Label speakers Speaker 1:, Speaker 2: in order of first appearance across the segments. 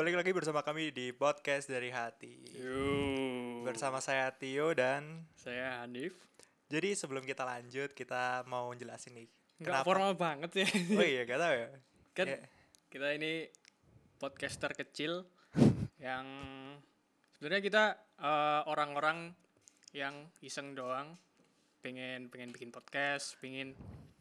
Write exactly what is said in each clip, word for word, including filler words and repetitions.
Speaker 1: balik lagi bersama kami di podcast dari hati.
Speaker 2: Yo.
Speaker 1: Bersama saya Tio dan
Speaker 2: Saya Hanif.
Speaker 1: jadi sebelum kita lanjut kita mau jelasin nih.
Speaker 2: Enggak formal banget ya.
Speaker 1: Oh iya, gak tahu ya.
Speaker 2: Kan
Speaker 1: Ya,
Speaker 2: kita ini podcaster kecil yang sebenarnya kita eh, orang-orang yang iseng doang, pengen pengen bikin podcast, pengen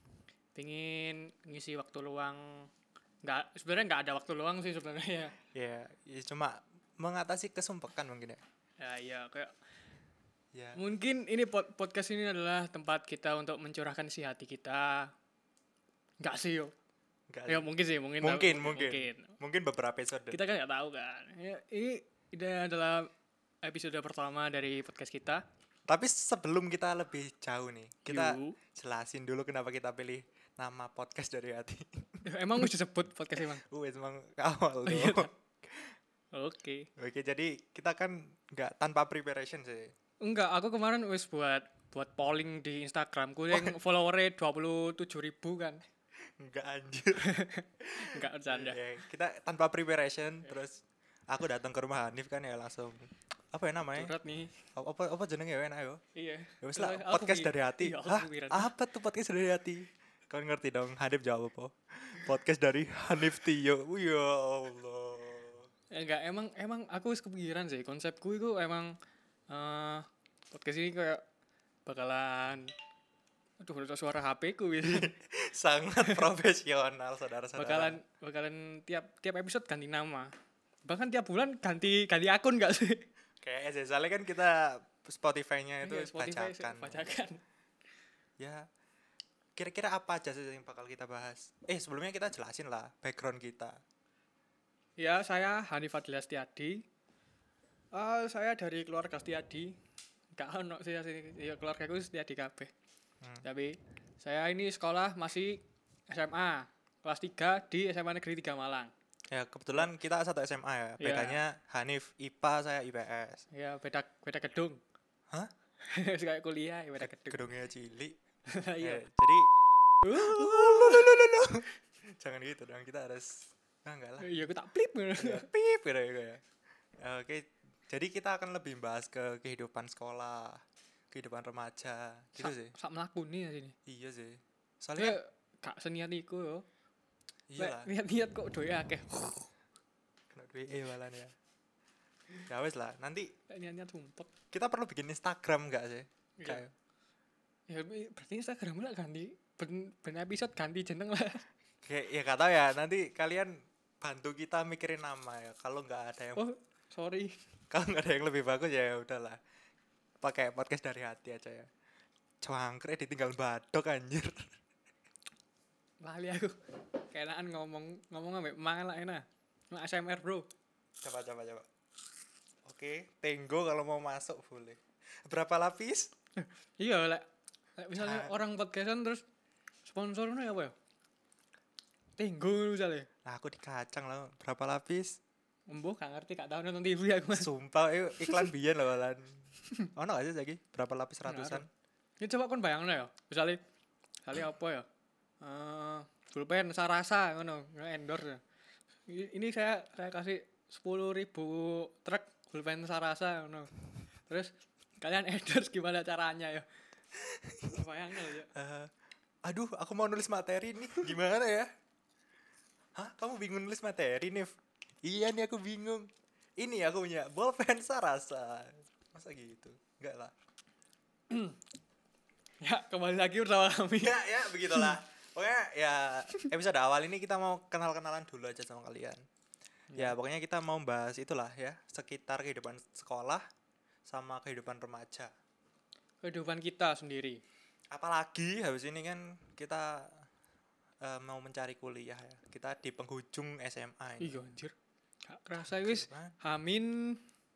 Speaker 2: pengen ngisi waktu luang. Nggak, sebenarnya nggak ada waktu luang sih sebenarnya.
Speaker 1: ya, ya cuma mengatasi kesumpekan mungkin ya.
Speaker 2: Ya iya kayak
Speaker 1: Ya.
Speaker 2: mungkin ini pod- podcast ini adalah tempat kita untuk mencurahkan isi hati kita. Enggak sih yo.
Speaker 1: Enggak.
Speaker 2: Ya mungkin sih, mungkin
Speaker 1: Mungkin,
Speaker 2: tahu,
Speaker 1: mungkin.
Speaker 2: mungkin.
Speaker 1: Mungkin beberapa episode.
Speaker 2: Kita kan nggak tahu kan. Ya, ini ini adalah episode pertama dari podcast kita.
Speaker 1: Tapi sebelum kita lebih jauh nih, kita
Speaker 2: Yuk.
Speaker 1: jelasin dulu kenapa kita pilih nama podcast dari hati.
Speaker 2: Emang mesti sebut podcast emang.
Speaker 1: Wes emang awal
Speaker 2: Oh, iya.
Speaker 1: tuh.
Speaker 2: Oke.
Speaker 1: Oke, jadi kita kan nggak tanpa preparation sih.
Speaker 2: Enggak, aku kemarin wis buat buat polling di Instagramku yang followernya dua puluh tujuh ribu kan.
Speaker 1: Enggak anjir.
Speaker 2: Enggak bercanda.
Speaker 1: Ya, kita tanpa preparation terus aku datang ke rumah Hanif kan ya langsung apa ya namanya?
Speaker 2: Curhat nih.
Speaker 1: Apa apa jenenge ya enak yo.
Speaker 2: Iya.
Speaker 1: Ya wis lah
Speaker 2: Aku
Speaker 1: podcast
Speaker 2: pi-
Speaker 1: dari hati.
Speaker 2: Iya, aku
Speaker 1: Hah?
Speaker 2: pikiran.
Speaker 1: Apa tuh podcast dari hati? Kau ngerti dong Hanif jawab apa? Podcast dari Hanif Tio. Oh, ya Allah.
Speaker 2: Ya, enggak, emang emang aku wis kepikiran sih konsepku itu emang eh podcast ini kayak bakalan aduh udah suara H P ku gitu.
Speaker 1: Sangat profesional saudara-saudara.
Speaker 2: bakalan bakalan tiap tiap episode ganti nama. Bahkan tiap bulan ganti ganti akun enggak sih?
Speaker 1: Kayak S S L kan kita Spotify-nya itu
Speaker 2: Iya, Spotify
Speaker 1: bacakan.
Speaker 2: bacakan.
Speaker 1: Ya. Kira-kira apa aja sih yang bakal kita bahas? Eh, sebelumnya kita jelasin lah background kita.
Speaker 2: Ya, saya Hanif Fadila Setiadi. Eh, saya dari keluarga Setiadi. Enggak ono sih sih ya keluargaku Setiadi kabeh.
Speaker 1: Hmm.
Speaker 2: Tapi saya ini sekolah masih S M A kelas tiga di S M A Negeri tiga Malang.
Speaker 1: Ya, kebetulan kita satu S M A ya.
Speaker 2: Iya.
Speaker 1: Bedanya Hanif I P A, saya I P S.
Speaker 2: Ya, beda beda gedung.
Speaker 1: Hah?
Speaker 2: Kayak kuliah ya beda gedung.
Speaker 1: Gedungnya cilik.
Speaker 2: Iya.
Speaker 1: Eh, jadi jangan gitu dong, kita harus nah, enggak lah.
Speaker 2: Iya, aku tak plip.
Speaker 1: Ya, pip gitu ya. Ya. Oke, jadi kita akan lebih bahas ke kehidupan sekolah, kehidupan remaja, gitu
Speaker 2: Sak-
Speaker 1: sih.
Speaker 2: Sak mlakune ya sini.
Speaker 1: Iya sih.
Speaker 2: Soalnya
Speaker 1: Soalnya
Speaker 2: gak seniat iku yo.
Speaker 1: iya lah.
Speaker 2: Niat-niat kok doya akeh.
Speaker 1: Kena duit eh malah ya. Ya wes lah, nanti
Speaker 2: Niat-niat sumpek.
Speaker 1: kita perlu bikin Instagram enggak sih?
Speaker 2: Iya.
Speaker 1: Kayak
Speaker 2: Ya berarti Instagram lah ganti ben, ben episode ganti jeneng lah.
Speaker 1: kayak ya kata ya, nanti kalian bantu kita mikirin nama ya. Kalau nggak ada yang
Speaker 2: Oh, sorry.
Speaker 1: kalau nggak ada yang lebih bagus ya udahlah. Pakai podcast dari hati aja ya. Cangkre ditinggal badok anjir.
Speaker 2: Lali aku. Keenaan ngomong ngomong ambek mang lah enak. Nggak A S M R, Bro.
Speaker 1: Coba coba coba. Oke, Tenggo kalau mau masuk boleh. Berapa lapis?
Speaker 2: Iya, lek lek misalnya
Speaker 1: Ah.
Speaker 2: orang podcastan terus sponsornya apa ya? Tenggo misalnya.
Speaker 1: Nah, aku dikacang lah. Berapa lapis?
Speaker 2: Embuh gak ngerti gak tahu nonton T V aku.
Speaker 1: Sumpah, eh, iklan biyen loh lan. Ono gak sih lagi? Berapa lapis ratusan?
Speaker 2: Ini coba kon bayangno ya. Misalnya misalnya apa ya? Eh, pulpen Sarasa ngono, endorse. I- Ini saya saya kasih sepuluh ribu truk pulpen Sarasa ngono. Terus kalian endorse gimana caranya ya? Bayangno ya.
Speaker 1: Eh, aduh, aku mau nulis materi nih. Gimana ya? Hah? Kamu bingung nulis materi, Nif? Iya nih aku bingung. Ini aku punya bolpen Sarasa. Masa gitu? Enggak lah.
Speaker 2: Ya, kembali lagi bersama kami.
Speaker 1: Ya, ya begitulah. Pokoknya ya episode awal ini kita mau kenal-kenalan dulu aja sama kalian. Ya, pokoknya kita mau bahas itulah ya, sekitar kehidupan sekolah sama kehidupan remaja.
Speaker 2: Kehidupan kita sendiri.
Speaker 1: Apalagi habis ini kan kita eh, mau mencari kuliah ya. Kita di penghujung S M A ini.
Speaker 2: Iya anjir. Gak kerasa wis
Speaker 1: Gimana?
Speaker 2: Hamin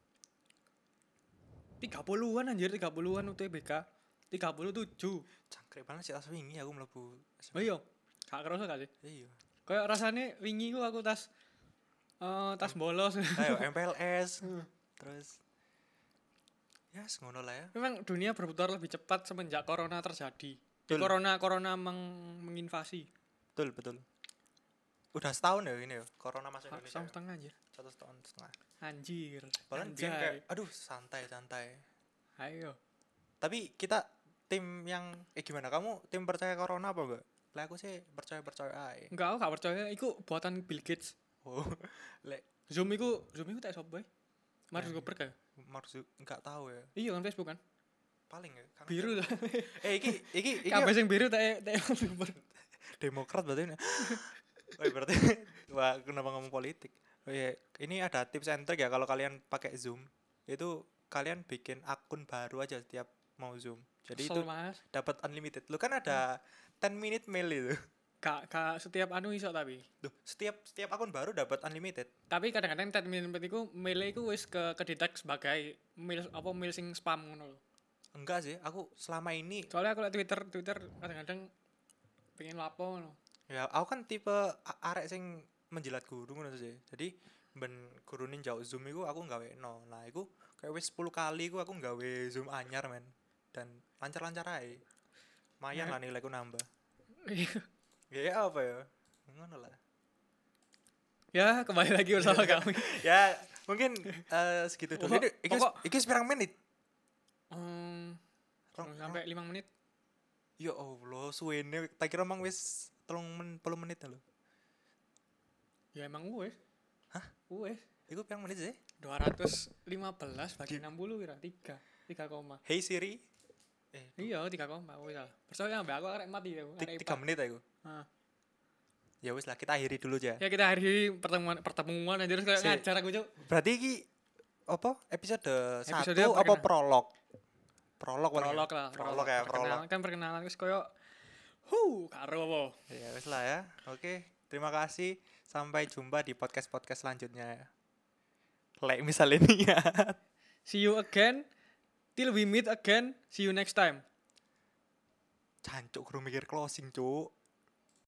Speaker 2: tiga puluhan anjir, tiga puluhan U T B K. tiga puluh tujuh.
Speaker 1: Cangkrik banget sih tas wingi aku mlebu S M A.
Speaker 2: Oh iya. Gak kerasa gak sih?
Speaker 1: Iya.
Speaker 2: Kayak rasanya wingi ku aku tas eh tas bolos.
Speaker 1: Ayo M P L S. Terus ya ngono lah ya.
Speaker 2: Memang dunia berputar lebih cepat semenjak corona terjadi.
Speaker 1: Betul.
Speaker 2: Corona corona meng- menginvasi.
Speaker 1: Betul, betul. udah setahun ya ini ya corona masuk
Speaker 2: Ha,
Speaker 1: Indonesia.
Speaker 2: setahun
Speaker 1: Ya?
Speaker 2: setengah anjir.
Speaker 1: Satu tahun setengah.
Speaker 2: Anjir.
Speaker 1: Bahkan
Speaker 2: Anjay.
Speaker 1: dia kayak aduh santai santai.
Speaker 2: Ayo.
Speaker 1: Tapi kita tim yang eh gimana? Kamu tim percaya corona apa enggak? Lah aku sih percaya percaya aja.
Speaker 2: Enggak, aku gak percaya iku buatan Bill Gates.
Speaker 1: Oh, lek
Speaker 2: Zoom iku, Zoom iku tak sapa bae? Mark
Speaker 1: Ya.
Speaker 2: Zuckerberg ya?
Speaker 1: Marzu enggak tahu ya.
Speaker 2: Iya kan Facebook kan?
Speaker 1: Paling ya. karena
Speaker 2: Biru
Speaker 1: dia-
Speaker 2: ta.
Speaker 1: Eh iki iki iki
Speaker 2: Kabeh sing biru tak tak Mark Zuckerberg.
Speaker 1: Demokrat berarti ini. Oh, berarti wah kenapa ngomong politik? Oh iya, ini ada tips and trick ya kalau kalian pakai Zoom. Itu kalian bikin akun baru aja setiap mau Zoom. Jadi itu
Speaker 2: Kesel, Mas.
Speaker 1: dapat unlimited. Lu kan ada ten minute mail itu.
Speaker 2: Kak, kak setiap anu iso tapi.
Speaker 1: Duh, setiap setiap akun baru dapat unlimited.
Speaker 2: Tapi kadang-kadang ten minute iku mail iku wis ke kedetek sebagai mail apa mail sing spam ngono lho.
Speaker 1: Enggak sih, aku selama ini
Speaker 2: Soalnya aku liat Twitter, Twitter kadang-kadang pengen lapo ngono.
Speaker 1: ya aku kan tipe a- arek sing menjilat guru ngono sih. Jadi ben gurunin jauh Zoom iku aku nggawe no. Nah, iku kayak wis sepuluh kali iku aku nggawe Zoom anyar men. Dan lancar-lancar ae. Lumayan lah nilaiku nambah. Ya apa ya? Ngono lah.
Speaker 2: Ya, kembali lagi bersama kami.
Speaker 1: Ya, mungkin eh, segitu dulu.
Speaker 2: Pokok-
Speaker 1: Ini iki
Speaker 2: pokok-
Speaker 1: iki wis pirang menit?
Speaker 2: Hmm,
Speaker 1: Rong-
Speaker 2: sampai lima menit.
Speaker 1: Ya Allah, suwene tak kira mang wis telung men, puluh menit lho.
Speaker 2: Ya emang wes.
Speaker 1: Hah?
Speaker 2: Wes.
Speaker 1: Iku pirang menit sih?
Speaker 2: dua ratus lima belas bagi enam puluh kira tiga. tiga koma.
Speaker 1: Hey Siri. Eh,
Speaker 2: Iya, tiga koma wis lah. Percaya ambek aku arek mati aku.
Speaker 1: ti-
Speaker 2: arek
Speaker 1: tiga
Speaker 2: I P A.
Speaker 1: menit aku.
Speaker 2: Heeh.
Speaker 1: Ya wis lah, kita akhiri dulu aja.
Speaker 2: Ya kita akhiri pertemuan pertemuan aja terus kayak
Speaker 1: Si-
Speaker 2: ngajar aku, Cuk.
Speaker 1: Berarti iki apa? Episode
Speaker 2: Episode
Speaker 1: satu apa
Speaker 2: perkenalan.
Speaker 1: prolog? Prolog paling
Speaker 2: Prolog
Speaker 1: ya?
Speaker 2: lah,
Speaker 1: Prolog ya, prolog.
Speaker 2: Perkenalan kan perkenalan wis koyo hu karo apa.
Speaker 1: Ya wis lah ya. Oke, terima kasih. Sampai jumpa di podcast-podcast selanjutnya ya. Like misalnya niat.
Speaker 2: See you again. Till we meet again. See you next time.
Speaker 1: Cancuk kudu mikir closing, Cuk.